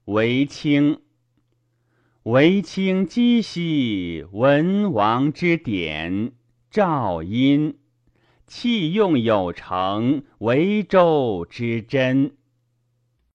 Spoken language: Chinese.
韦清。韦清积兮文王之典，赵殷。器用有成，为周之真。